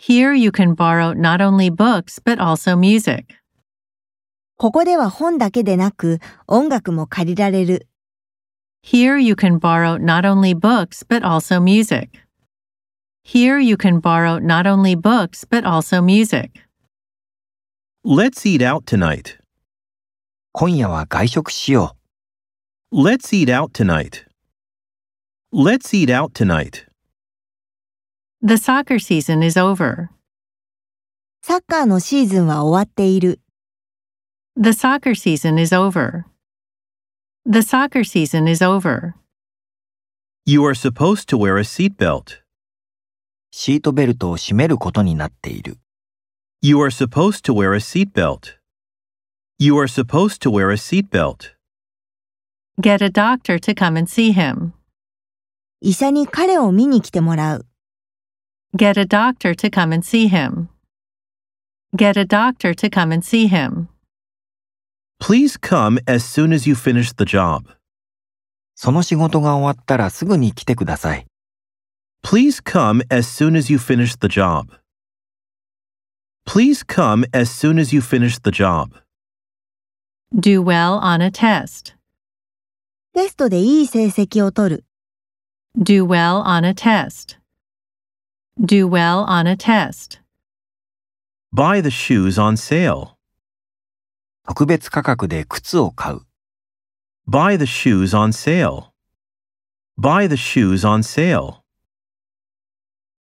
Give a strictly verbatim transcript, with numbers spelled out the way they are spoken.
Here you can borrow not only books but also music. ここでは本だけでなく音楽も借りられる。 Here you can borrow not only books but also music. Here you can borrow not only books but also music. Let's eat out tonight. 今夜は外食しよ Let's eat out tonight. Let's eat out tonight. The soccer season is over. サッカーのシーズンは終わっている。 The soccer season is over. The soccer season is over. You are supposed to wear a seatbelt. う。シートベルトを締めることになっている。 You are supposed to wear a seatbelt. You are supposed to wear a seatbelt. Get a doctor to come and see him. 医者に彼を見に来てもらう。 Get a doctor to come and see him. Get a doctor to come and see him. Please come as soon as you finish the job. その仕事が終わったらすぐに来てください。 Please come as soon as you finish the job. Please come as soon as you finish the job. Do well on a test. テストでいい成績を取る。 Do well on a test. Do well on a test. Buy the shoes on sale. 特別価格で靴を買う。 Buy the shoes on sale. Buy the shoes on sale.